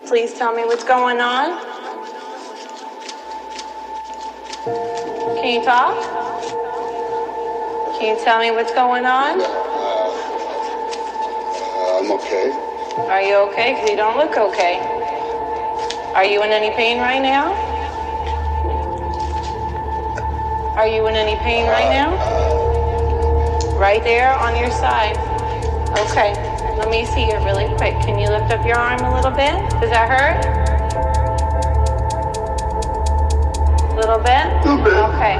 Please tell me what's going on. Can you talk? Can you tell me what's going on? I'm okay. Are you okay? Because you don't look okay. Are you in any pain right now? Are you in any pain right now? Right there on your side. Okay. Let me see it really quick. Can you lift up your arm a little bit? Does that hurt? A little bit? A little bit. Okay.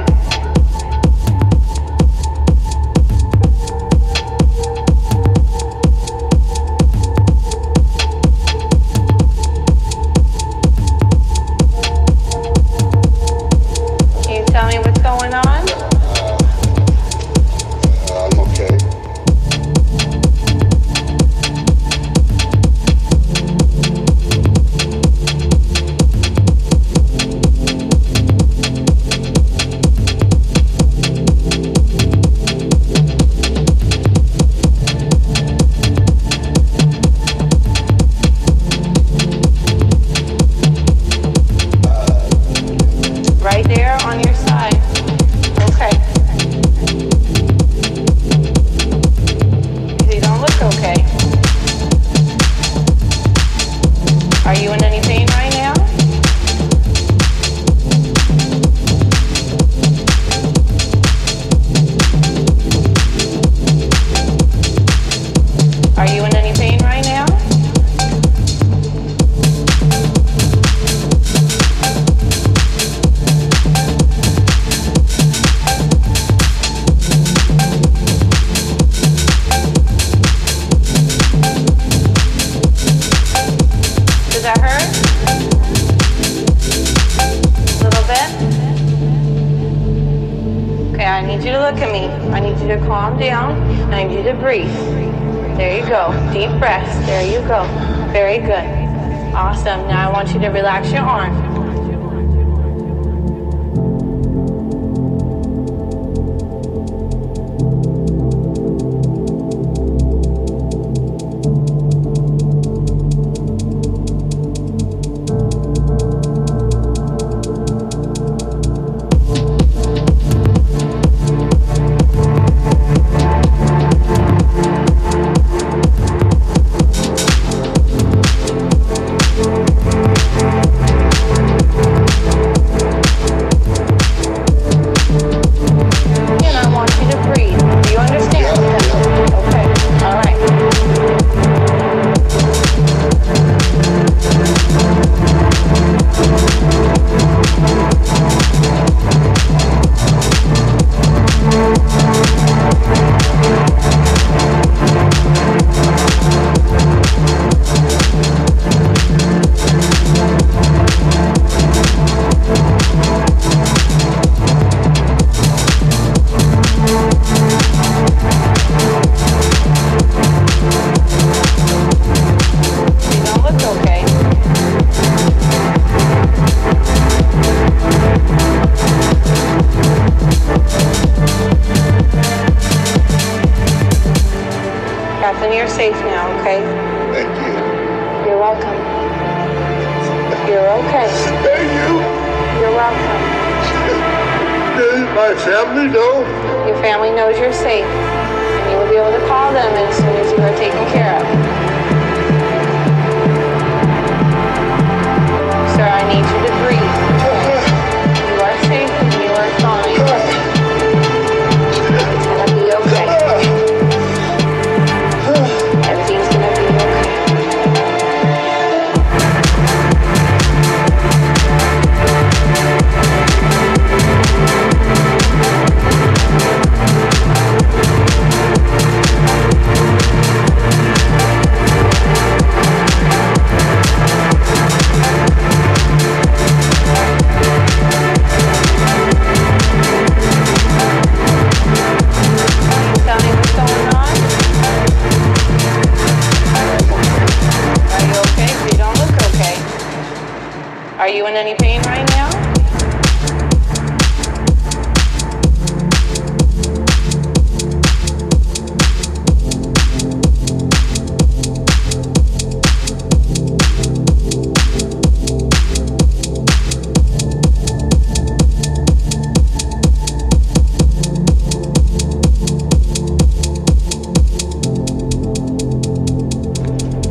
Can you tell me what's going on? I'm okay. Right there on your side. Okay. You don't look okay. Are you in any pain right now? Are you in any pain right now? Does that hurt? A little bit? Okay, I need you to look at me. I need you to calm down. I need you to breathe. There you go. Deep breaths. There you go. Very good. Awesome. Now I want you to relax your arm. And I want you to breathe. Do you understand? Okay. All right. You don't look okay. Captain, you're safe now, okay? Thank you. You're welcome. You're okay. Thank you. You're welcome. Does my family know? Your family knows you're safe, and you will be able to call them as soon as you are taken care of. Sir, I need you to breathe. You are safe and you are fine. It's gonna be okay. Everything's gonna be okay. Tell me what's going on. Are you okay? You don't look okay. Are you in any pain right now?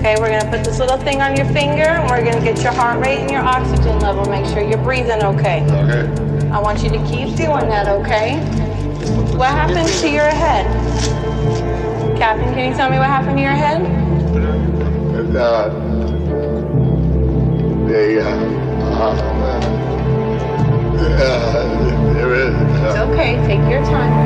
Okay, we're gonna put this little thing on your finger and we're gonna get your heart rate and your oxygen level. Make sure you're breathing okay. Okay. I want you to keep doing that, okay? What happened to your head? Captain, can you tell me what happened to your head? It's okay, take your time.